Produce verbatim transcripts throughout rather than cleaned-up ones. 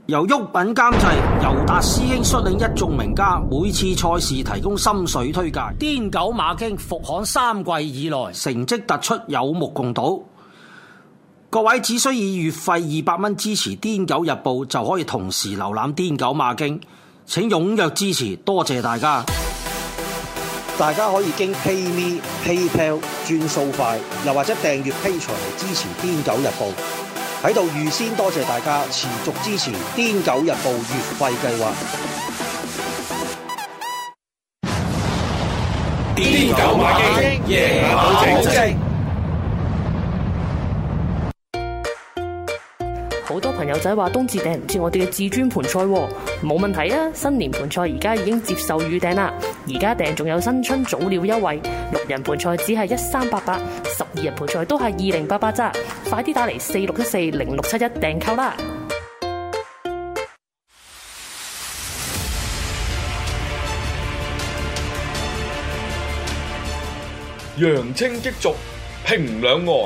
由郁品監製，尤達師兄率領一眾名家，每次賽事提供心水推介。癲狗馬經復刊三季以來，成績突出，有目共睹。各位只需以月費二百蚊支持癲狗日報，就可以同時瀏覽癲狗馬經。請踴躍支持，多謝大家！大家可以經 PayMe、PayPal 轉數快，又或者訂閱 Patreon嚟支持癲狗日報。喺度預先多謝大家持續支持癲狗日報月費計劃。 癲狗馬經，夜馬保證。 好多朋友仔話冬至訂唔切我哋嘅至尊盤菜喎，冇問題啊！新年盤菜而家已經接受預訂啦，而家訂仲有新春早鳥優惠，六人盤菜只係一三八八，十二人盤菜都係二零八八咋，快啲打嚟四六一四零六七一訂購啦！ 揚清激濁，平兩岸。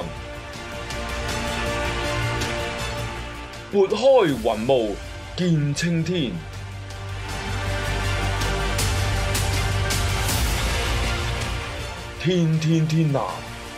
撥開雲霧見青天，天天天藍。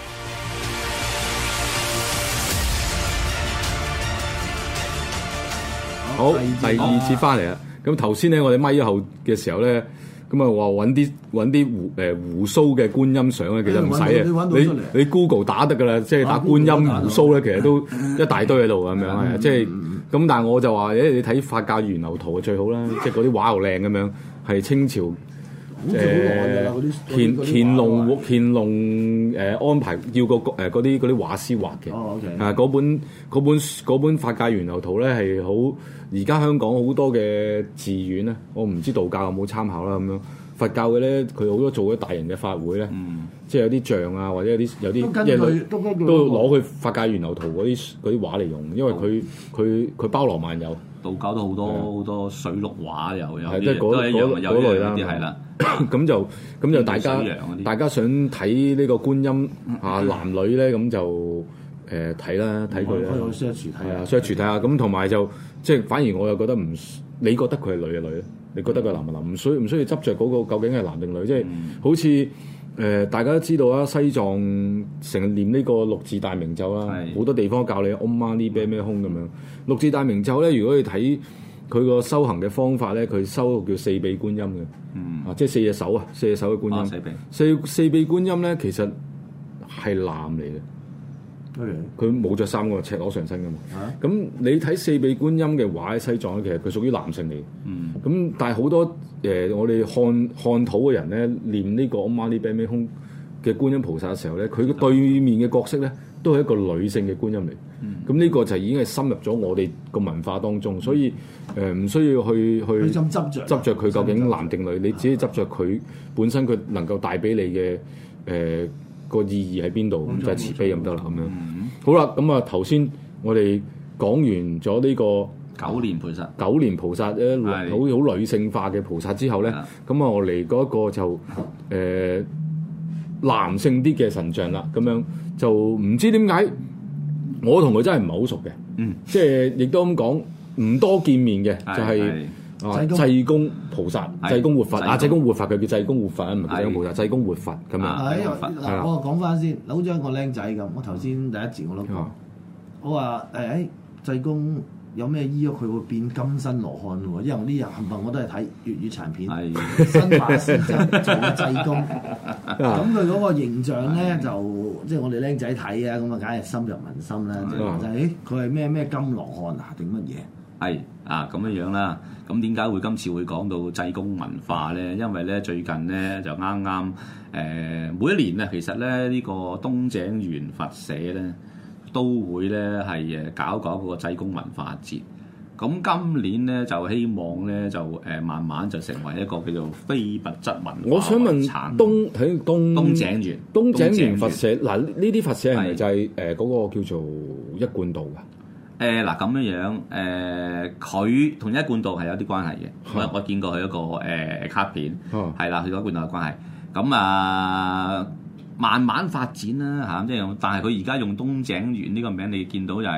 好，第二次翻嚟啦。咁頭先咧，我哋咪後嘅時候咧，咁啊話揾啲揾啲胡誒胡鬚嘅觀音相咧，其實唔使啊。你你 Google 打得噶啦，即係打觀音胡鬚咧，其實都一大堆喺度咁樣係，即係咁。但係我就話誒，你睇法教源流圖最好啦，即係嗰啲畫又靚咁樣，係清朝誒乾乾隆乾隆誒安排要個誒嗰啲嗰啲畫師畫嘅。 哦 OK。 啊，嗰本嗰本嗰本法教源流圖咧係好。而家香港好多嘅寺院咧，我唔知道教有冇參考啦咁樣。佛教嘅咧，佢好多做咗大型嘅法會咧，嗯、即係有啲像啊，或者有啲有啲嘢都都攞佢法界源流圖嗰啲嗰啲畫嚟用，因為佢佢佢包羅萬有。 道教都好多好多水陸畫又有， 即係嗰嗰嗰類啦。 係啦， 咁就咁就大家大家想睇呢個觀音啊男女咧，咁就誒睇啦，睇佢啦。 開 search 睇啊 search 睇下，咁同埋就即係反而我又覺得唔，你覺得佢係女嘅女咧？你覺得佢男唔男？唔需唔需要執着嗰個究竟係男定女？即係、嗯、好似誒、呃、大家都知道啊，西藏成日念呢個六字大明咒啦，好多地方教你 Om Mani Padme Hum 咁樣。六字大明咒咧，如果你睇佢個修行嘅方法咧，佢修叫四臂觀音嘅，嗯、啊即係四隻手啊，四隻手嘅觀音。哦、四臂四四臂觀音咧，其實係男嚟嘅。佢冇着衫㗎，赤裸上身㗎嘛。咁、啊、你睇四臂觀音嘅畫喺西藏咧，其實佢屬於男性嚟。咁、嗯、但係好多誒、呃，我哋漢漢土嘅人咧，念呢個 Om Mani Padme Hum嘅觀音菩薩嘅時候咧，佢嘅對面嘅角色咧，都係一個女性嘅觀音嚟。咁呢、嗯、個就已經係深入咗我哋個文化當中，所以誒唔、呃、需要去去執着執著佢究竟男定女，你只係執着佢本身佢能夠帶俾你嘅誒。呃個意義喺邊度？咁就係慈悲咁得啦，咁樣。嗯、好啦，咁啊頭先我哋講完咗呢個九蓮菩薩， 九蓮菩薩咧，好好女性化嘅菩薩之後咧，咁啊的我嚟嗰一個就誒、呃、男性啲嘅神像啦，咁樣就唔知點解我同佢真係唔係好熟嘅，嗯，即係亦都咁講，唔多見面嘅，就係、是。啊！濟公菩薩、濟公活佛啊！濟公活佛佢叫濟公活佛啊，唔係濟公菩薩，濟公活佛咁樣。 係嗱，我講翻先，好似一個僆仔咁。我頭先第一節我都講，我話誒誒濟公有咩醫咗佢會變金身羅漢喎？因為呢日冚唪唥我都係睇粵語殘片，新馬師曾做濟公，咁佢嗰個形象咧就即係我哋僆仔睇啊，咁啊梗係深入民心啦。即係話就誒佢係咩咩金羅漢啊定乜嘢？ 係啊，咁樣樣啦。咁點解會今次會講到濟公文化咧？因為咧最近咧就啱啱誒每一年咧，其實咧呢個東井源佛社咧都會咧係誒搞搞嗰個濟公文化節。咁今年咧就希望咧就誒慢慢就成為一個叫做非物質文化。 我想問東喺東東井源東井源佛社嗱，呢啲佛社係咪就係誒嗰個叫做一貫道㗎？ 誒嗱咁樣樣，誒佢同一貫道係有啲關係嘅。我、嗯、我見過佢一個誒、呃、卡片，係啦、嗯，佢同一貫道有關係。咁啊，慢慢發展啦嚇，即係但係佢而家用東井源呢個名，你見到就係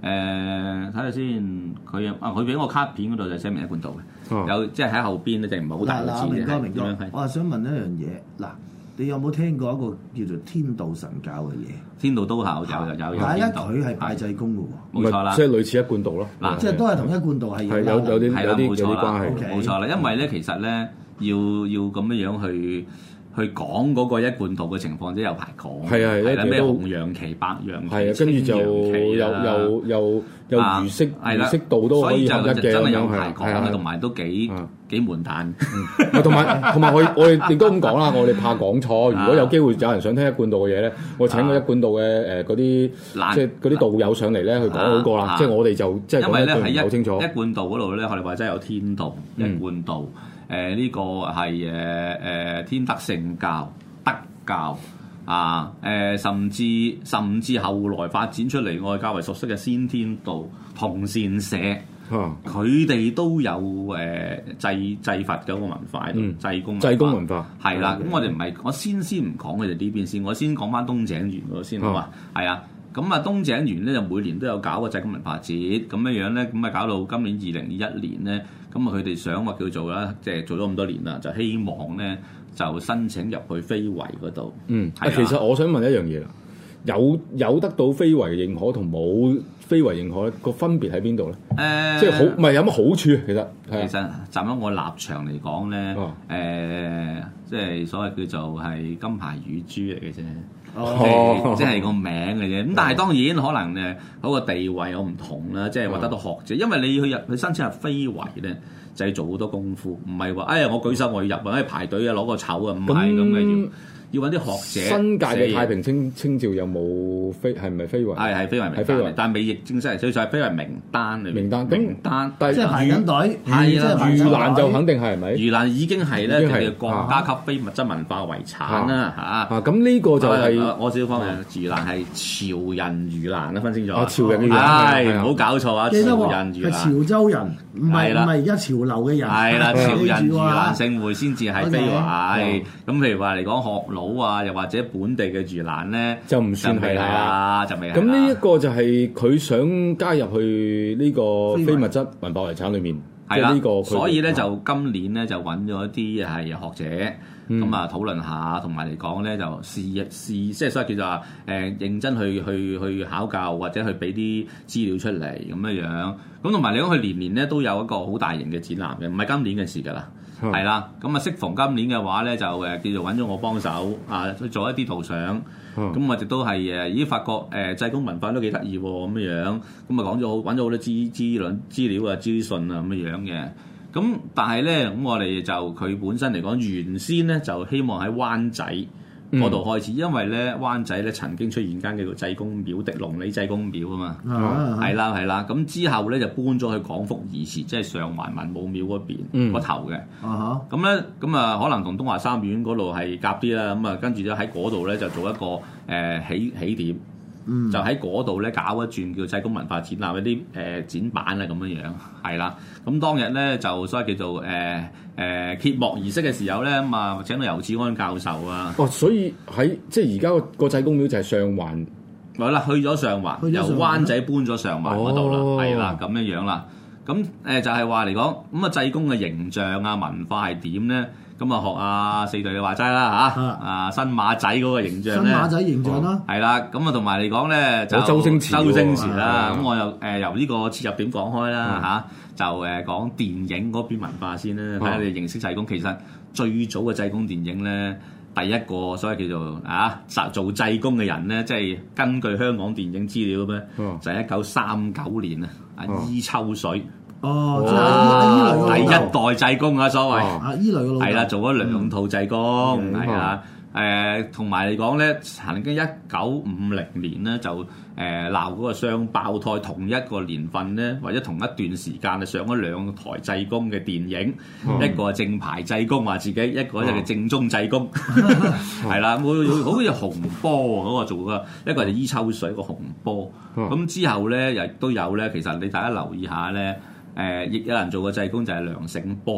誒睇下先，佢啊佢俾我卡片嗰度就寫明一貫道嘅， 哦、 有即係喺後邊咧，就唔係好大個字嘅。 明哥明哥點樣係， 我係想問一樣嘢，嗱，你有冇聽過一個叫做天道神教嘅嘢？ 天道都考有有有有但係咧， 天道， 佢係拜濟公嘅喎。 冇錯啦即。係類似一貫道咯。 嗱即係都係同一貫道係係有有啲係啦， 有啲有冇錯啦啲關係。 OK 冇錯啦，因為咧其實咧要要咁樣樣去去講嗰個一貫道嘅情況，都有排講。 係啊係係啦，咩都紅楊旗、白楊旗、 係啊，跟住就青楊旗又啊又又又啊魚色係啦魚色道都可以合一嘅真係咁樣有排講係係嘅，同埋都幾啊幾悶蛋。 係同埋同埋我我哋亦都咁講啦，我哋怕講錯。如果有機會有人想聽一貫道嘅嘢咧，我請個一貫道嘅誒嗰啲嗱即係嗰啲道友上嚟咧去講好過啦。 啊即係我哋就即係因為咧講得喺一唔係好清楚一。貫道嗰度咧，我哋話真係有天道、一嗯貫道，誒呢個係誒誒天德聖教、德教啊，誒甚至甚至後來發展出嚟，我哋較為熟悉嘅先天道、同善社。 啊佢哋都有誒祭祭佛嘅一個文化喺度， 嗯祭公濟公文化係啦。咁嗯我哋唔係，我先先唔講佢哋呢邊先，我先講翻東井園嗰度先好嘛？係啊。咁啊，東井園咧就每年都有搞個濟公文化節，咁樣樣咧，咁啊搞到今年二零二一年咧，咁啊佢哋想話叫做啦，即係做咗咁多年啦，就希望咧就申請入去非遺嗰度。 嗯， 係啊其實我想問一樣嘢啦，有有得到非遺認可同冇非遺認可咧，個分別喺邊度咧？ 誒， 即係好唔係有乜好處？其實係其啊實站喺我立場嚟講咧，誒、 哦即係所謂叫做係金牌乳豬嚟嘅啫。 哦即係即係個名嘅啫，咁但係當然可能誒嗰個地位有唔同啦，即係話得到學者，因為你去入去申請入非遺咧，就要做好多功夫，唔係話哎呀我舉手我要入啊，排隊啊攞個籌啊，唔係咁嘅要。要揾啲學者。 新界嘅太平清清醮有冇非係咪非遺？ 係係非遺名單係非遺， 但係未譯正式嚟，所以就係非遺名單裏面名單名單。 但即係排緊隊， 係即係排盂緊蘭就隊肯定係係咪？ 盂蘭已經係咧已經係佢哋國家級非物質文化遺產啦嚇。 啊，咁呢個就係啊我少少方面，盂蘭係潮人盂蘭啦，分清楚。 啊潮人嘅盂蘭係係啊唔好搞錯啊！潮記得喎，係人盂蘭潮州人，唔係係啦唔係而家潮流嘅人。 係啦，潮人盂記住啊蘭盛會先至係非遺。咁譬如話嚟講學佬啊，又或者本地嘅盂蘭咧， 就唔算係就未係啦，就未係啦。 咁呢一個就係佢想加入去呢個非物質文化遺產裏面， 係啦， 即係呢個佢所以咧就今年咧就揾咗一啲係學者。 嗯咁啊討論下，同埋嚟講咧就試一試，即係所謂叫做話誒、呃、認真去去去考究，或者去俾啲資料出嚟咁樣樣。咁同埋嚟講，佢年年咧都有一個好大型嘅展覽嘅，唔係今年嘅事㗎啦，係啦、嗯。咁啊，適逢今年嘅話咧，就誒叫做揾咗我幫手啊，去做一啲圖相。咁、嗯、我亦都係誒，咦發覺誒濟公文化都幾得意喎咁樣樣。咁啊講咗好揾咗好多資資料資料啊資訊啊咁樣樣嘅。咁但係咧，咁我哋就佢本身嚟講，原先咧就希望喺灣仔嗰度開始，嗯、因為咧灣仔咧曾經出現間叫做濟公廟的龍里濟公廟啊嘛，係啦係啦。咁之後咧就搬咗去廣福義祠，即係上環文武廟嗰邊個、嗯、頭嘅。咁咧咁啊，可能同東華三院嗰度係夾啲啦。咁啊，跟住咧喺嗰度咧就做一個誒、呃、起起點。嗯、就喺嗰度咧搞一轉叫濟公文化展覽，一啲誒、呃、展板啊咁樣樣，係啦。咁當日咧就所謂叫做誒誒、呃呃、揭幕儀式嘅時候咧，咁啊請到游志安教授啊。 哦，所以喺即係而家個個濟公廟就係上環， 係啦，去咗上環，由灣仔搬咗上環嗰度啦，係啦咁樣樣啦。咁誒、呃、就係話嚟講，咁啊濟公嘅形象啊文化係點咧？咁啊學阿四隊嘅話齋啦嚇，啊新馬仔嗰個形象咧， 新馬仔形象啦， 係啦。咁啊同埋嚟講咧，就周星馳， 周星馳啦。咁我又誒由呢個切入點講開啦嚇，就誒講電影嗰邊文化先啦，睇下你認識濟公。其實最早嘅濟公電影咧，第一個所謂叫做啊做濟公嘅人咧，即係根據香港電影資料咧，就係一九三九年啊，啊伊秋水。 哦，即係第一代濟公啊，所謂啊，伊雷嘅老豆係啦，做咗兩套濟公係啊，誒同埋嚟講咧，曾經一九五零年咧就誒鬧嗰個雙胞胎，同一個年份咧，或者同一段時間啊上咗兩台濟公嘅電影，一個係正牌濟公話自己，一個就係正宗濟公，係啦，會好似紅波嗰個做嘅，一個就伊秋水，一個紅波，咁之後咧亦都有咧，其實你大家留意下咧。誒，亦、呃、有人做過濟公就係梁醒波，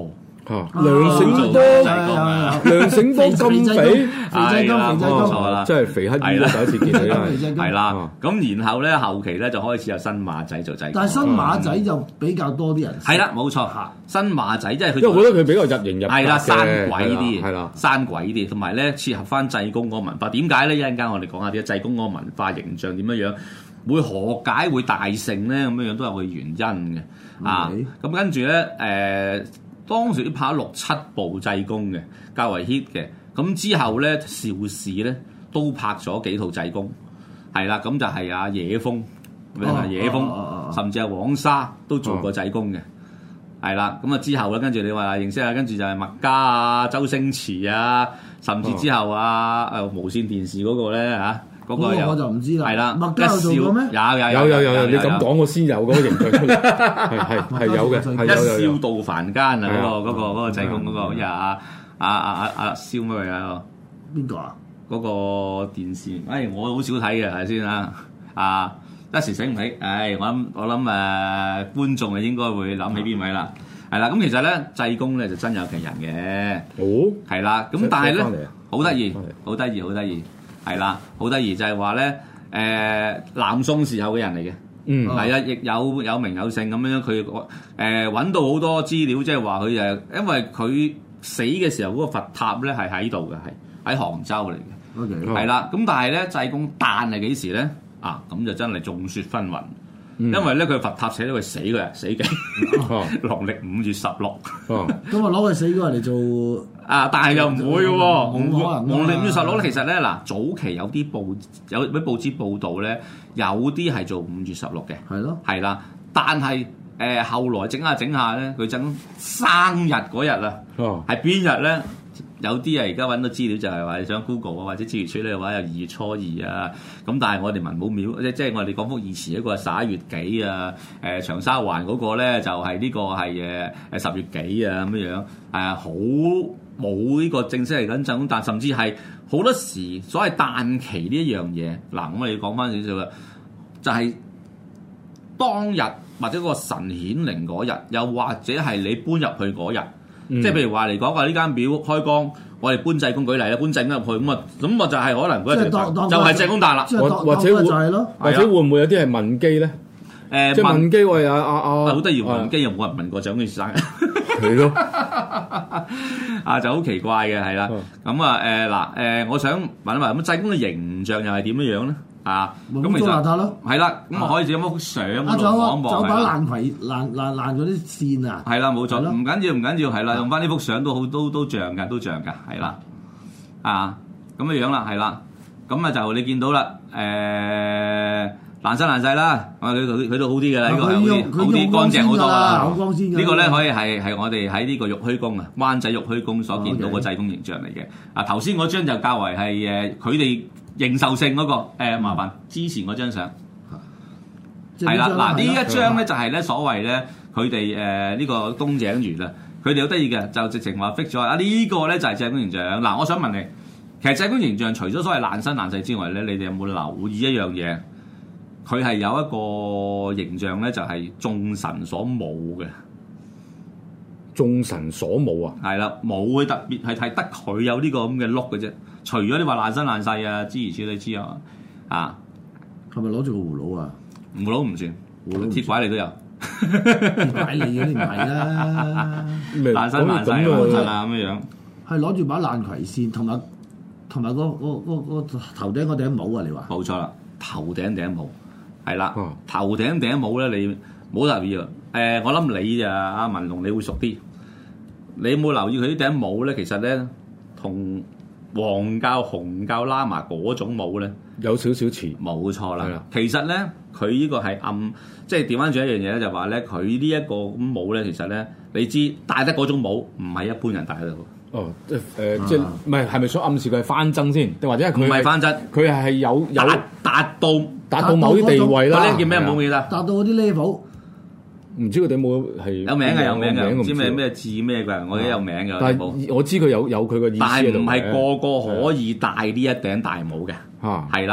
梁醒波，梁醒波咁肥， 肥仔金，肥仔金， 啦， 真係肥乞兒啦！第一次見佢啦， 係啦。咁然後咧後期咧就開始有新馬仔做濟公， 但係新馬仔就比較多啲人。 係啦，冇錯，新馬仔即係佢， 因為我覺得佢比較入型入格嘅， 係啦，生鬼啲， 係啦， 生鬼啲，同埋咧切合翻濟公嗰個文化。點解咧？一陣間我哋講下啲濟公嗰個文化形象點樣樣，會何解會大盛咧？咁樣樣都有個原因嘅。啊，咁跟住咧誒。當時都拍咗六七部濟公嘅，較為 hit 嘅。咁之後咧，邵氏咧都拍咗幾套濟公，係啦。咁就係阿野風，啊野風，啊、甚至係黃沙都做過濟公嘅，係啦。咁啊之後咧，跟住你話認識下，跟住就係麥嘉啊、周星馳啊，甚至之後啊誒無線電視嗰個咧嚇。嗰個我就唔知啦，係啦，麥嘉有做過咩？有有有有有有，你咁講我先有嗰個形象出嚟，係係係有嘅，係有有。 一笑到凡間啊！嗰個嗰個嗰個濟公嗰個，好似阿阿阿阿阿蕭乜嘢啊？ 邊個啊？ 嗰個電視，誒我好少睇嘅，係先啊！啊一時醒唔起，誒我諗我諗誒觀眾啊應該會諗起邊位啦？係啦，咁其實咧濟公咧就真有其人嘅，哦，係啦，咁但係咧好得意，好得意，好得意。係啦，好得意就係話咧，誒南宋時候嘅人嚟嘅，嗯，係啊，亦有有名有姓咁樣，佢誒揾到好多資料，即係話佢誒，因為佢死嘅時候嗰個佛塔咧係喺度嘅，係喺杭州嚟嘅，OK，係啦，咁但係咧濟公誕係幾時咧？啊，咁就真係眾說紛紜。因為咧佢佛塔寫到佢死嗰日死嘅，農曆五月十六，咁啊攞佢死嗰日嚟做啊，但係又唔會嘅喎，農曆五月十六咧，其實咧嗱，早期有啲報有啲報紙報導咧，有啲係做五月十六嘅，係咯，係啦，但係誒、呃、後來整下整下咧，佢整生日嗰日啊，係邊日咧？有啲啊，而家揾到資料就係話你想 Google 啊，或者資源處理嘅話有二月初二啊，咁但係我哋文武廟即即係我哋廣福義祠一個係十一月幾啊，誒、呃、長沙灣嗰個咧就係、是、呢個係誒誒十月幾啊咁樣樣，係好冇呢個正式嚟緊陣，但甚至係好多時所謂誕期呢一樣嘢，嗱我哋講翻少少啦，就係、是、當日或者個神顯靈嗰日，又或者係你搬入去嗰日。嗯、即係譬如話嚟講話呢間廟開光，我哋搬濟公舉例啦，搬濟公入去咁啊，咁啊就係可能嗰日就係濟公誕啦， 或者會或者會唔會有啲係問基咧？誒、呃，即係問基喂啊啊啊！ 好得意問基又冇人問過獎先生， 係咯， 啊就好奇怪嘅係啦。咁啊誒嗱誒，我想問一問咁濟公嘅形象又係點樣樣咧？啊，咁其實係啦，咁我可以整幅相嗰度望一望。 就把爛葵爛爛爛嗰啲線啊！ 係啦，冇錯，唔緊要唔緊要，係啦，用翻呢幅相都好，都都像㗎，都像㗎，係啦，啊咁嘅樣啦，係啦，咁啊就你見到啦，誒爛身爛世啦，啊佢佢佢都好啲㗎啦，呢個係好啲，好啲乾淨好多啦。呢個咧可以係係我哋喺呢個玉虛宮啊，灣仔玉虛宮所見到個濟公形象嚟嘅。啊頭先嗰張就較為係誒佢哋。認受性嗰、那個、呃、麻煩之前嗰張相係啦，嗱呢一張咧就係咧所謂咧佢哋誒呢個東井園啊，佢哋好得意嘅就直情話 fix 咗啊呢個咧就係濟公形象。嗱，我想問你，其實濟公形象除咗所謂爛身爛世之外咧，你哋有冇留意一樣嘢？佢係有一個形象咧，就係眾神所冇嘅。 眾神所冇啊， 係啦，冇佢特別係睇得佢有呢個咁嘅碌嘅啫。除咗你話爛身爛世啊，諸如此類之外啊， 係咪攞住個葫蘆啊？ 葫蘆唔算，葫蘆鐵拐你都有， 鐵拐你嗰啲唔係啦， 爛身爛世咁啊咁嘅樣， 係攞住把爛葵扇，同埋同埋個個個個頭頂嗰頂帽啊！你話冇錯啦，頭頂頂帽係啦，頭頂頂帽咧，你冇留意啊？誒，我諗你啊，阿文龍你會熟啲。你有冇留意佢啲頂帽咧？其實咧，同黃教、紅教喇嘛嗰種帽咧， 有少少似。 冇錯啦。其實咧，佢呢個係暗，即係調翻轉一樣嘢咧，就話咧，佢呢一個咁帽咧，其實咧，你知戴得嗰種帽唔係一般人戴得到。 哦，即係誒，呃啊、即係唔係係咪想暗示佢係翻僧先？定或者係佢唔係翻僧？ 佢係有有達，達到達到某啲地位啦。 嗰啲叫咩帽記得？ 達到嗰啲 level。 唔知佢哋冇係有名嘅，有名嘅，唔知咩咩字咩嘅，我記得有名嘅。 但係我知佢有有佢嘅意思。 但係唔係個個可以戴呢一頂大帽嘅，係啦。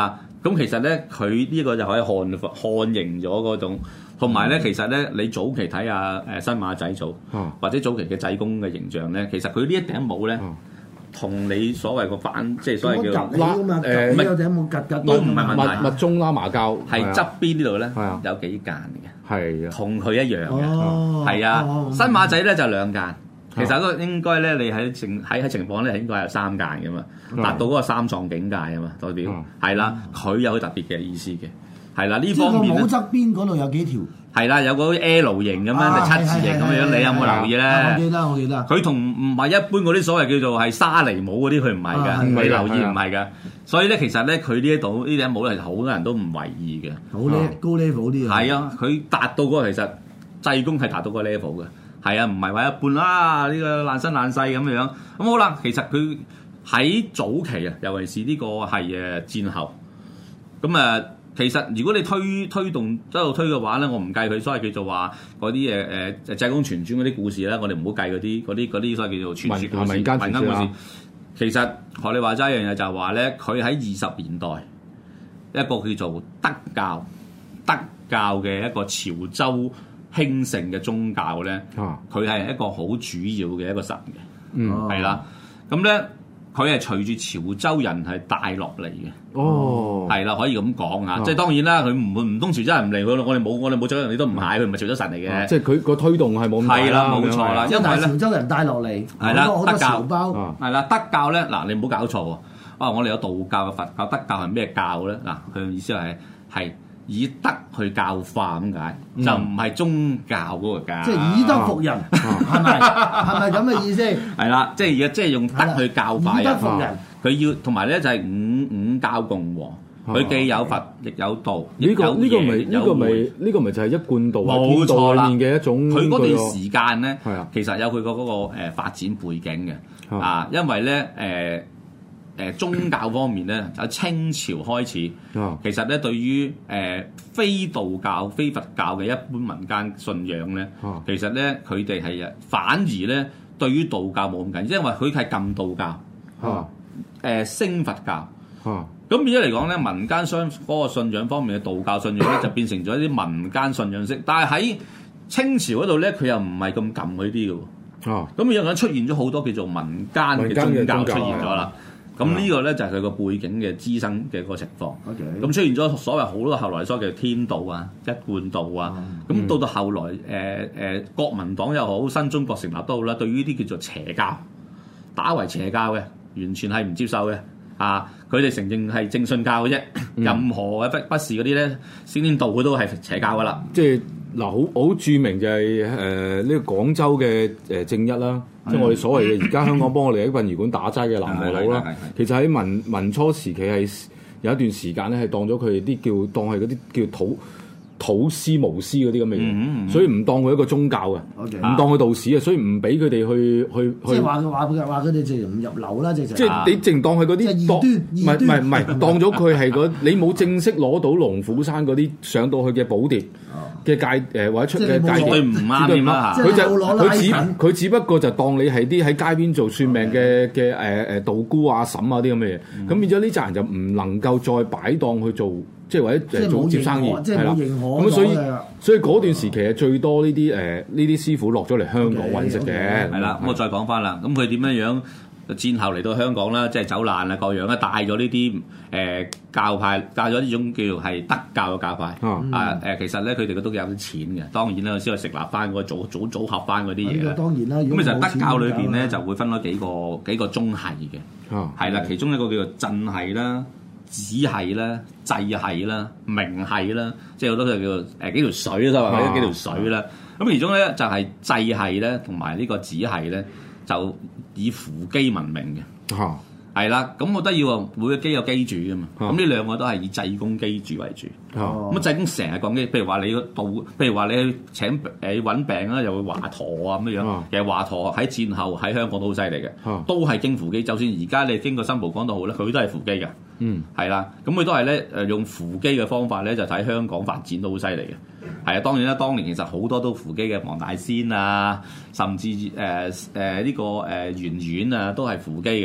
咁其實咧，佢呢個就可以漢漢型咗嗰種，同埋咧，其實咧，你早期睇下誒新馬仔組， 啊、 或者早期嘅濟公嘅形象咧，其實佢呢一頂帽咧，同、啊、你所謂個反，即係所謂叫拉誒，唔係有頂帽格格都唔係問題， 密密中啦麻膠， 係側邊呢度咧啊有幾間嘅， 係啊， 同佢一樣嘅， 哦， 係啊， 哦新馬仔咧就兩間。其實嗰個應該咧，你喺情喺喺情況咧，應該有三間嘅嘛，達到嗰個三藏境界啊嘛，代表係啦，佢有特別嘅意思嘅，係啦呢方面咧， 即係個帽側邊嗰度有幾條， 係啦，有個 L 型咁樣，就七字形咁樣，你有冇留意咧？ 我記得，我記得。 佢同唔係一般嗰啲所謂叫做係沙尼帽嗰啲，佢唔係㗎，你留意唔係㗎。所以咧，其實咧，佢呢一度呢頂帽咧，好多人都唔為意嘅， 好咧，高 level 啲啊。 係啊，佢達到嗰個其實濟公係達到個 level 嘅。係啊，唔係話一半啦，呢、這個爛身爛世咁樣。咁好啦，其實佢喺早期啊，尤其是呢個係誒戰後。咁啊，其實如果你推推動一路推嘅話咧，我唔計佢所謂叫做話嗰啲誒誒濟公傳傳嗰啲故事咧，我哋唔好計嗰啲嗰啲嗰啲所謂叫做傳説故事、民間故事。其實學你話齋一樣嘢就係話咧，佢喺二十年代一個叫做德教德教嘅一個潮州興盛嘅宗教咧，佢係、啊、一個好主要嘅一個神嘅，嗯，係啦。咁咧，佢係隨住潮州人係帶落嚟嘅，哦，係啦，可以咁講啊。即係當然啦，佢唔會唔通潮州人唔嚟，佢我哋冇我哋冇潮州人，你都唔係，佢唔係潮州神嚟嘅、啊。即係佢個推動係冇咁大啦。係啦，冇錯啦， 因為潮州人帶落嚟， 係啦，德教包係啦，德教咧嗱，你唔好搞錯喎。啊，我哋有道教、佛教、德教係咩教咧？嗱，佢嘅意思係係。以德去教化咁解，嗯、就唔係宗教嗰個教。 即係以德服人，係咪、啊？係咪咁嘅意思？ 係啦，即係而家即係用德去教化人。以德服人，佢要同埋咧就係五五教共和，佢、啊、既有佛亦有道。呢、這個呢個咪呢個咪呢個咪就係一貫道冇錯啦嘅一種。 佢嗰段時間咧，其實有佢個嗰個誒發展背景嘅啊，因為咧誒。呃誒宗教方面咧，喺清朝開始，哦、其實咧對於誒、呃、非道教、非佛教嘅一般民間信仰咧，哦、其實咧佢哋係反而咧對於道教冇咁緊，因為佢係禁道教，誒、哦呃、升佛教，咁、哦、變咗嚟講咧，民間相嗰個信仰方面嘅道教信仰咧，就變成咗一啲民間信仰式，但係喺清朝嗰度咧，佢又唔係咁禁嗰啲嘅喎，咁、哦、樣樣出現咗好多叫做民間嘅宗教出現咗啦。咁呢個咧就係佢個背景嘅滋生嘅個情況。咁 Okay. 出現咗所謂好多後來所謂嘅天道啊、一貫道啊。咁、嗯、到到後來，誒、呃、誒、呃、國民黨又好，新中國成立都好啦，對於呢啲叫做邪教，打為邪教嘅，完全係唔接受嘅。啊，佢哋承認係正信教嘅啫，嗯、任何嘅不不是嗰啲咧，先天道佢都係邪教噶啦。即係嗱，好好著名就係誒呢個廣州嘅誒正一啦。即係我哋所謂嘅而家香港幫我哋喺殯儀館打齋嘅南無佬啦，其實喺民民初時期係有一段時間咧係當咗佢哋啲叫當係嗰啲叫土土司巫師嗰啲咁嘅嘢，嗯嗯、所以唔當佢一個宗教嘅，唔 Okay. 當佢道士啊，所以唔俾佢哋去去即係話佢話佢話佢哋直情唔入流啦，直情。 即係你淨當佢嗰啲當唔係唔係唔係當咗佢係嗰你冇正式攞到龍虎山嗰啲上到去嘅寶碟。嘅界誒或者出嘅界絕對唔啱嘅嘛， 佢就佢只佢只不過就當你係啲喺街邊做算命嘅嘅誒誒道姑啊嬸啊啲咁嘅嘢，咁變咗呢扎人就唔能夠再擺檔去做，即係或者誒做接生意，係啦。咁所以所以嗰段時期係最多呢啲誒呢啲師傅落咗嚟香港揾食嘅。 係啦，咁我再講翻啦，咁佢點樣樣？戰後嚟到香港啦，即係走難啊，各樣咧帶咗呢啲誒教派，帶咗呢種叫做係德教嘅教派、嗯、啊誒，其實咧佢哋都有啲錢嘅，當然啦，先去成立翻嗰個組組組合翻嗰啲嘢啦。當然啦，咁其實德教裏邊咧就會分咗幾個幾個宗系嘅，係啦、啊，其中一個叫做鎮系啦、子系啦、祭系啦、明系啦，即係好多就叫做誒幾條水啦，或者幾條水啦。咁、啊、其中咧就係祭系咧，同埋呢個子系咧。就以扶乩聞名嘅，係啦、啊，咁我覺得要每個乩有乩主噶嘛，咁呢、啊、兩個都係以濟公乩主為主，咁啊濟公成日講嘅，譬如話你道，譬如話你去請誒揾病啦，又會華佗啊咁樣樣，啊、其實華佗喺戰後喺香港都好犀利嘅，啊、都係經扶乩，就算而家你經過新蒲崗都好咧，佢都係扶乩嘅，嗯，係啦，咁佢都係咧誒用扶乩嘅方法咧，就睇香港發展都好犀利嘅。係啊，當然啦，當年其實好多都扶乩嘅，黃大仙啊，甚至誒誒呢個誒圓圓啊，都係扶乩嘅，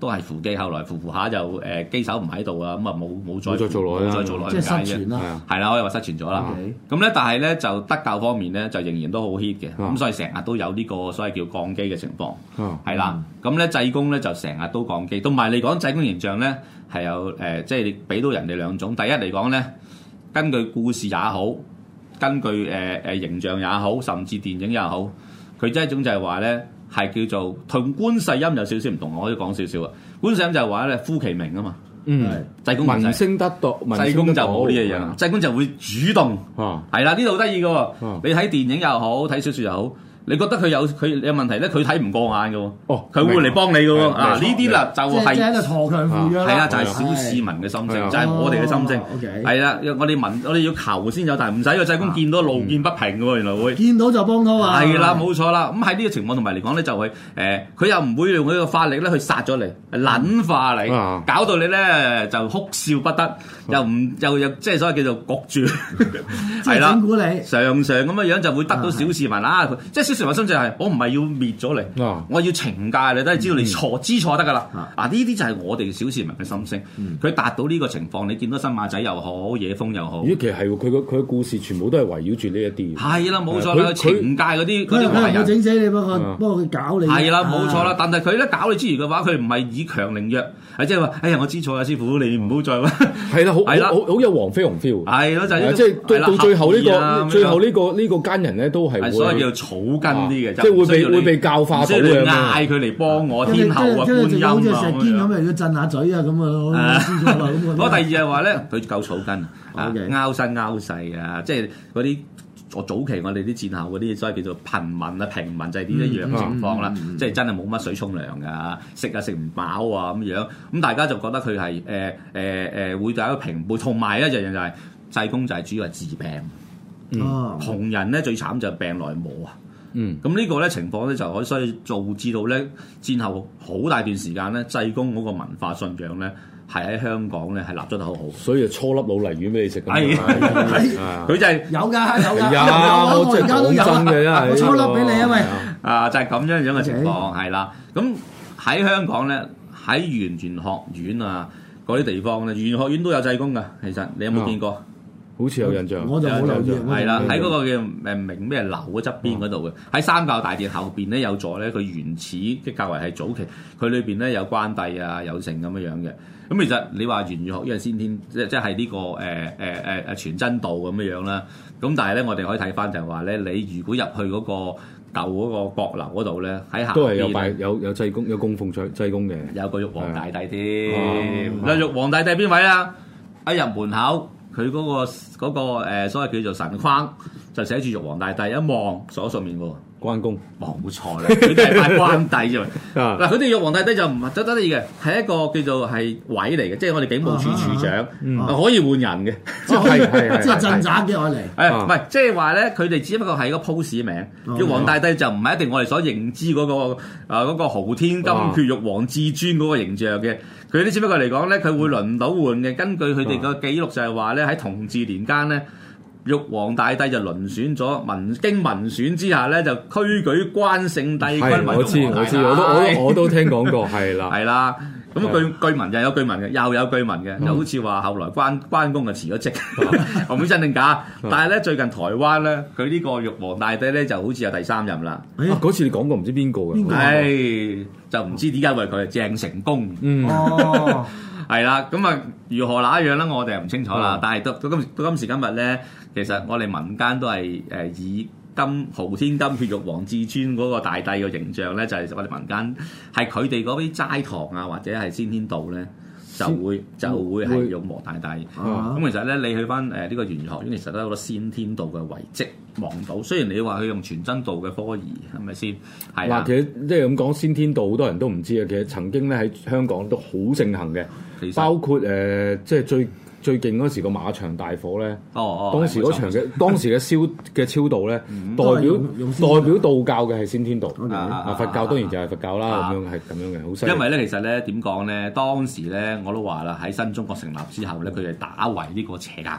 都係扶機，後來扶扶下就誒、呃、機手唔喺度啊，咁啊冇冇再再做落去啦， 再做落去即係解啫。 失傳啦， 係啦，可以話失傳咗啦。咁咧，但係咧就德教方面咧就仍然都好 hit 嘅，咁所以成日都有呢個所謂叫降機嘅情況。係啦，咁咧濟公咧就成日都降機，同埋嚟講濟公形象咧係有誒、呃，即係你俾到人哋兩種。第一嚟講咧，根據故事也好，根據誒誒、呃、形象也好，甚至電影也好，佢即係一種就係話咧係叫做同觀世音有少少唔同。我可以講少少啊，觀世音就係話咧呼其名啊嘛。嗯，濟公聞聲得道， 濟公就冇呢樣嘢，濟公就會主動。係啦、啊，呢度好得意嘅喎。啊、你睇電影又好，睇小説又好。你覺得佢有佢有問題咧？佢睇唔過眼嘅喎，哦，佢會嚟幫你嘅喎。啊，呢啲啦就係即係一個鋤強扶弱啦。係啊，就係小市民嘅心聲，就係我哋嘅心聲。係啦，我哋問，我哋要求先有，但係唔使個濟公見到路見不平嘅喎，原來會見到就幫拖啊。係啦，冇錯啦。咁喺呢個情況同埋嚟講咧，就係誒，佢又唔會用佢個法力咧去殺咗你，撚化你，搞到你咧就哭笑不得，又唔又又即係所謂叫做焗住，係啦，常常咁嘅樣就會得到小市民啊，即係。成個心就係我唔係要滅咗你，啊、我要懲戒你，都係知道你錯，嗯、知錯得噶啦。啊，呢啲就係我哋小市民嘅心聲。佢、嗯、達到呢個情況，你見到新馬仔又好，野風又好。咦，其實係佢個佢嘅故事全部都係圍繞住呢一啲。係啦，冇錯啦，佢懲戒嗰啲嗰啲壞人。佢整死你，幫佢幫佢搞你。係啦，冇錯啦。但係佢咧搞你之餘嘅話，佢唔係以強凌弱，係即係話，哎呀，我知錯啦，師傅，你唔好再。係啦，好係啦，好好有黃飛鴻 feel。係咯，就係即係到到最後呢個最後呢個呢個奸人咧，都係所謂叫草根啲嘅，即係會被會被教化到嘅。嗌佢嚟幫我天后啊，觀音啊，好似石堅咁，又要震下嘴啊咁啊。嗰第二係話咧，佢夠草根啊，拗身拗勢啊，即係嗰啲我早期我哋啲戰後嗰啲，所謂叫做貧民啊、平民就係點一樣情況啦，即係真係冇乜水沖涼㗎，食啊食唔飽啊咁樣。咁大家就覺得佢係誒誒誒會有一個平輩，同埋一樣嘢就係濟公就係主要係治病。嗯，窮人咧最慘就係病來磨啊。嗯，咁呢個咧情況咧就可以所以導致到咧戰後好大段時間咧濟公嗰個文化信仰咧係喺香港咧係立咗得好好，所以就搓粒老泥丸俾你食。係，佢就係有㗎有㗎，有我而家都有啊，我搓粒俾你啊喂，啊就係咁樣樣嘅情況係啦。咁喺香港咧喺圓玄學院啊嗰啲地方咧，圓玄學院都有濟公㗎。其實你有冇見過？好似有印象，我就冇留意。係啦，喺嗰個叫誒明咩樓嘅側邊嗰度嘅，喺三教大殿後邊咧有座咧，佢原始即係較為係早期，佢裏邊咧有關帝啊，有成咁樣樣嘅。咁其實你話圓玄學院係先天，即即係呢個誒誒誒誒全真道咁樣樣啦。咁但係咧，我哋可以睇翻就係話咧，你如果入去嗰個舊嗰個閣樓嗰度咧，喺下邊都係有拜有有濟公有供奉濟濟公嘅，有個玉皇大帝添。嗱，玉皇大帝邊位啊？一入門口。佢嗰、那個嗰、那個、呃、所謂叫做神框就寫住玉皇大帝，一望左上面喎，關公，冇錯啦，佢哋係拜關帝啫嘛。嗱，佢哋玉皇大帝就唔係得得意嘅，係一個叫做係位嚟嘅，即係我哋警務處處長，啊嗯啊、可以換人嘅，即係係即係鎮宅嘅我嚟。誒唔係，即係話咧，佢哋只不過係個 pose 名。玉皇大帝就唔係一定我哋所認知嗰、那個啊嗰、那個昊天金闕玉皇至尊嗰個形象嘅。佢啲只不過嚟講咧，佢會輪到換嘅。根據佢哋個記錄就係話咧，喺同治年間咧，玉皇大帝就輪選咗民經民選之下咧，就推舉關聖帝君為玉皇大帝。我知我知，我都我都我都聽講過，係啦，係啦。咁據據聞又有據聞嘅，又有據聞嘅，又好似話後來關關公就辭咗職，我唔知真定假。但係咧最近台灣咧，佢呢個玉皇大帝咧就好似有第三任啦。嗰次你講過唔知邊個嘅？係就唔知點解為佢係鄭成功。哦，係啦，咁啊如何那樣咧？我哋又唔清楚啦。但係到到今到今時今日咧，其實我哋民間都係誒以金昊天金闕玉皇至尊嗰個大帝嘅形象咧，就係、是、我哋民間係佢哋嗰啲齋堂啊，或者係先天道咧，就會就會係玉皇大帝。咁、啊、其實咧，你去翻誒呢個圓玄學院，其實都有好多先天道嘅遺跡望到。雖然你話佢用全真道嘅科儀，係咪先？係嗱，其實即係咁講，先天道好多人都唔知啊。其實曾經咧喺香港都好盛行嘅，其實包括誒、呃、即係最。最勁嗰時個馬場大火咧，哦哦，當時嗰場嘅當時嘅燒嘅超度咧，代表代表道教嘅係先天道，啊佛教當然就係佛教啦，咁樣係咁樣嘅，好犀利。因為咧，其實咧點講咧，當時咧我都話啦，喺新中國成立之後咧，佢哋打圍呢個邪教，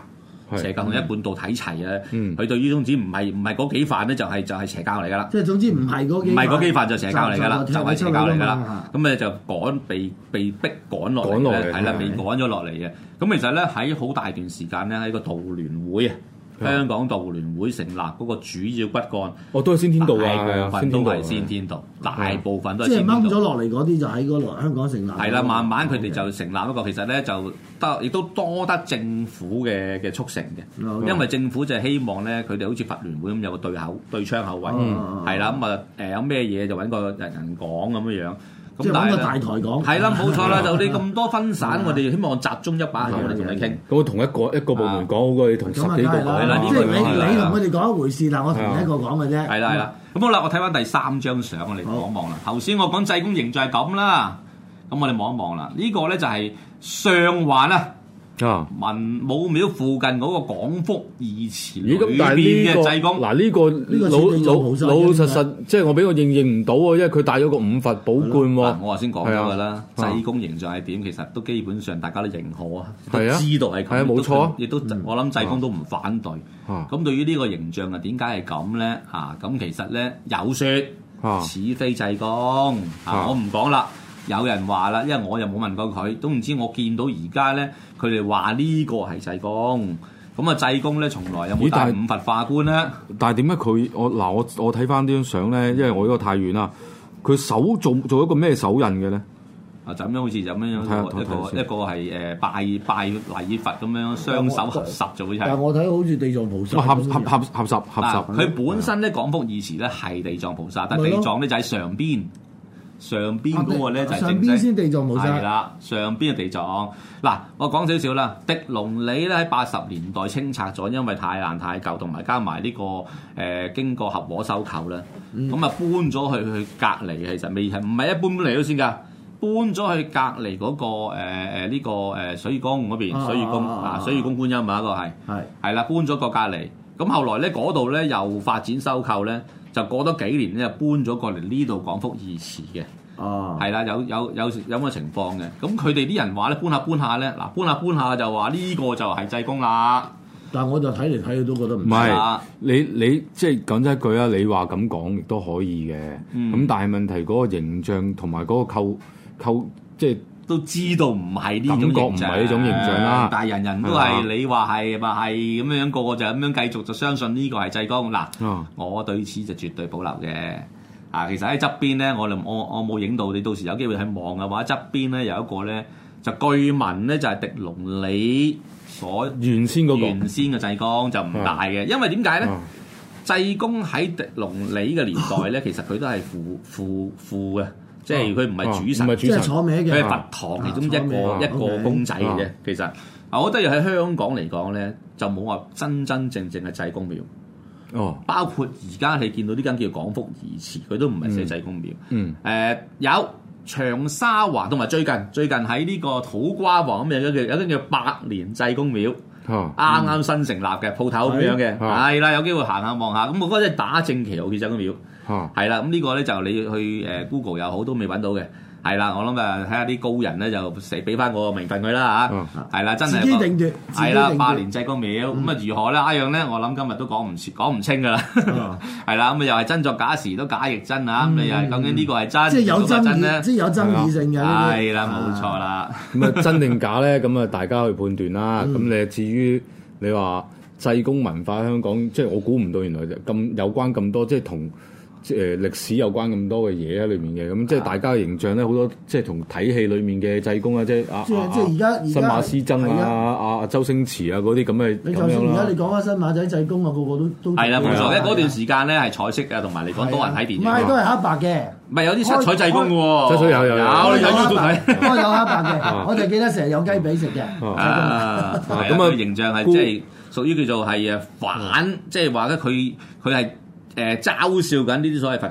邪教同一貫道睇齊啊！ 嗯佢對於宗旨唔係唔係嗰幾範咧，就係就係邪教嚟㗎啦。 即係總之唔係嗰幾唔係嗰幾範就邪教嚟㗎啦， 就就係邪教嚟㗎啦嘛。 咁咧就趕被被逼趕落嚟趕落嚟嘅，係啦， 係被趕咗落嚟嘅。咁其實咧喺好大段時間咧喺個道聯會啊。香港道聯會成立嗰個主要骨幹， 哦，都係先天道大啊， 部分都係先天道，大部分都係即係先天道。 掹咗落嚟嗰啲就喺嗰度香港成立。 係啦，慢慢佢哋就成立一個，其實咧就得，亦都多得政府嘅嘅促成嘅， Okay. 因為政府就係希望咧，佢哋好似佛聯會咁有個對口對窗口位，係啦，咁啊誒有咩嘢就揾個人人講咁樣樣。 即係揾個大台講， 係啦，冇錯啦，就你咁多分散，我哋希望集中一把口嚟同你傾。 咁同一個一個部門講好過你同十幾個講啦即係你你同佢哋講一回事，但我同一個講嘅啫。 係啦係啦，咁好啦，我睇翻第三張相，我哋望一望啦。頭先我講濟公形象係咁啦，咁我哋望一望啦。呢個咧就係上環啊。 啊！ 文武廟附近嗰個廣福義祠裏咦咁但係邊呢個嘅濟公， 嗱呢個呢個老似地藏老菩薩老老實啫實，即係我俾我認認唔到喎，因為佢帶咗個五佛寶冠喎。 嗱我頭先講咗㗎啦， 係啊濟公形象係點？其實都基本上大家都認可啊，都係啊知道係咁， 係啊冇錯啊亦都我諗濟公都唔反對。 啊咁對於呢個形象啊，點解係咁咧？嚇咁其實咧有説啊似非濟公啊啊，我唔講啦。有人話啦，因為我又冇問過佢，都唔知我見到而家咧，佢哋話呢個係濟公。咁啊，濟公咧從來有冇帶五佛化冠咧？ 但係點解佢我嗱我我睇翻呢張相咧，因為我呢個太遠啦，佢手做做一個咩手印嘅咧？ 啊，就咁樣好似就咁樣睇下一個一個一個係誒拜拜禮佛咁樣，雙手合十就會係。 但係我睇好似地藏菩薩合合咁樣合合十合十。 佢本身咧廣福義祠咧係地藏菩薩，但係地藏咧就喺上邊。上邊嗰個咧就係上正式邊先地藏菩薩係啦，上邊嘅地藏。嗱，我講少少啦。狄龍里咧喺八十年代清拆咗，因為太爛太舊，同埋加埋呢、這個誒、呃、經過合和收購啦，咁啊、嗯、搬咗去去隔離，其實未係唔係一般搬嚟到先㗎，搬咗去隔離嗰、那個誒誒呢個誒水月宮嗰邊，水月宮啊水月宮觀音啊一個係係係啦，搬咗個隔離。咁後來咧嗰度咧又發展收購咧。就過多幾年咧，就搬咗過嚟呢度廣福義祠嘅， 哦， 係啦，有有有有咁嘅情況嘅。咁佢哋啲人話咧，搬下搬下咧，嗱搬下搬下就話呢個就係濟公啦。 但係我就睇嚟睇去都覺得唔唔係你你即係講真一句啊！你話咁講亦都可以嘅，咁、嗯、但係問題嗰個形象同埋嗰個構構即係。 都知道唔係呢種形象， 感覺唔係呢種形象啦。 但係人人都係你話係咪係咁樣，個個就咁樣繼續就相信呢個係濟公嗱。 啊、 我對此就絕對保留嘅。啊，其實喺側邊咧，我我我冇影到，你到時有機會去望嘅話，側邊咧有一個咧就據聞咧就係狄龍里所原先嗰、那個原先嘅濟公就唔大嘅，啊、因為點解咧？濟、啊、公喺狄龍里嘅年代咧，其實佢都係副副副嘅。即係佢唔係主神， 即係坐名嘅， 佢係佛堂其中一個、啊、一個公仔嘅啫。Okay. 其實啊，我覺得要喺香港嚟講咧，就冇話真真正正嘅濟公廟。 哦， 包括而家你見到呢間叫廣福義祠，佢都唔係寫濟公廟。 嗯，誒、 呃、有長沙灣同埋最近最近喺呢個土瓜灣咁樣嘅有間叫百年濟公廟。啱啱、嗯、新成立嘅鋪頭咁樣嘅，係啦、啊，有機會行下望下。咁我覺得打正旗號嘅濟公廟。係啦，咁呢個咧就你去誒 Google 又好都未揾到嘅，係啦，我諗誒睇下啲高人咧就寫俾翻個名分佢啦嚇，係啦，真係自己定奪， 係啦，百年濟公廟咁啊如何咧？一樣咧，我諗今日都講唔講唔清噶啦，係啦，咁啊又係真作假時都假亦真啊，咁你又究竟呢個係真， 即係有爭議咧， 即係有爭議性嘅， 係啦，冇錯啦。 咁啊真定假咧？咁啊大家去判斷啦。咁你至於你話濟公文化香港，即係我估唔到原來咁有關咁多，即係同。即係歷史有關咁多嘅嘢喺裏面嘅，咁即係大家嘅形象咧，好多即係同睇戲裏面嘅濟公啊，即係啊， 即係即係而家新馬師曾啊，阿周星馳啊嗰啲咁嘅。 你就算而家你講翻新馬仔濟公啊，個個都都係啦，冇錯。因為嗰段時間咧係彩色嘅，同埋嚟講多人睇電影。 唔係都係黑白嘅， 唔係有啲七彩濟公嘅喎。 七彩有有有， 有有要都睇。 我有黑白嘅，我就記得成日有雞髀食嘅。 啊，咁啊形象係即係屬於叫做係誒反，即係話咧佢佢係。誒嘲笑緊呢啲所謂佛教，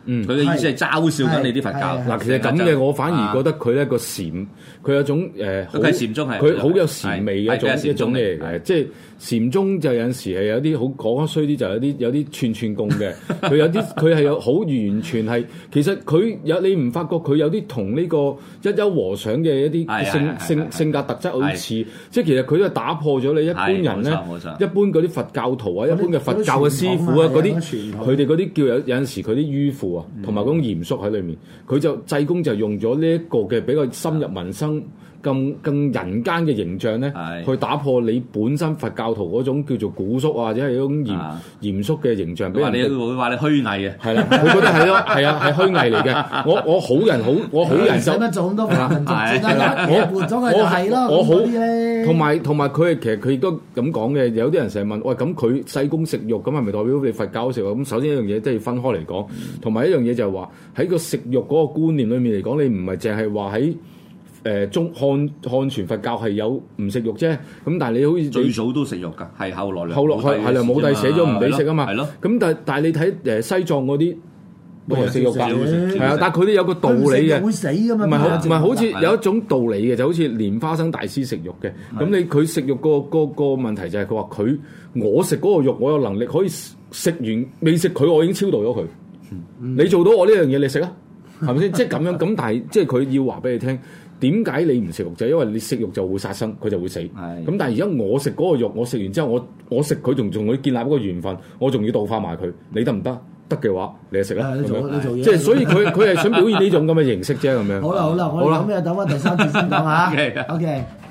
嗯， 佢嘅意思係嘲笑緊你啲佛教。 嗱，其實咁嘅，我反而覺得佢咧個禪，佢有種誒， 佢係禪宗係， 佢好有禪味嘅一種一種嘢嚟嘅，即係禪宗就有陣時係有啲好講得衰啲，就有啲有啲串串供嘅，佢有啲佢係有好完全係，其實佢有你唔發覺佢有啲同呢個一休和尚嘅一啲性性性格特質好似，即係其實佢都係打破咗你一般人咧，一般嗰啲佛教徒啊，一般嘅佛教嘅師傅啊，嗰啲佢哋嗰啲叫有有陣時佢啲迂腐啊，同埋嗰種嚴肅喺裏面，佢就濟公就用咗呢一個嘅比較深入民生。更更人間嘅形象咧，去打破你本身佛教徒嗰種叫做古肅啊，或者係嗰種嚴嚴肅嘅形象。俾人哋會話你虛偽嘅， 係啦，佢覺得係咯，係啊，係虛偽嚟嘅。我我好人好，我好人就使乜做咁多繁文縟節啊？我活咗佢就係咯， 我好咧。 同埋同埋佢係其實佢亦都咁講嘅。有啲人成日問，喂，咁佢濟公食肉，咁係咪代表你佛教食肉？咁首先一樣嘢都要分開嚟講，同埋一樣嘢就係話喺個食肉嗰個觀念裏面嚟講，你唔係淨係話喺。誒中漢漢傳佛教係有唔食肉啫，咁但係你好似最早都食肉㗎，係後來後來係係啦，武帝寫咗唔俾食啊嘛， 係咯。 咁但係但係你睇誒西藏嗰啲都係食肉㗎，係啊，但係佢哋有個道理嘅， 會死㗎嘛， 唔係好唔係好似有一種道理嘅，就好似蓮花生大師食肉嘅，咁你佢食肉個個個問題就係佢話佢我食嗰個肉，我有能力可以食完未食佢，我已經超度咗佢。你做到我呢樣嘢，你食啊，係咪先？即係咁樣咁，但係即係佢要話俾你聽。點解你唔食肉就係因為你食肉就會殺生，佢就會死。咁但係而家我食嗰個肉，我食完之後，我我食佢仲仲會建立一個緣分，我仲要度化埋佢，你得唔得？得嘅話，你就食啦。即係所以佢佢係想表現呢種咁嘅形式啫，咁樣。 好啦好啦，我哋有咩等翻第三節先講嚇。OK。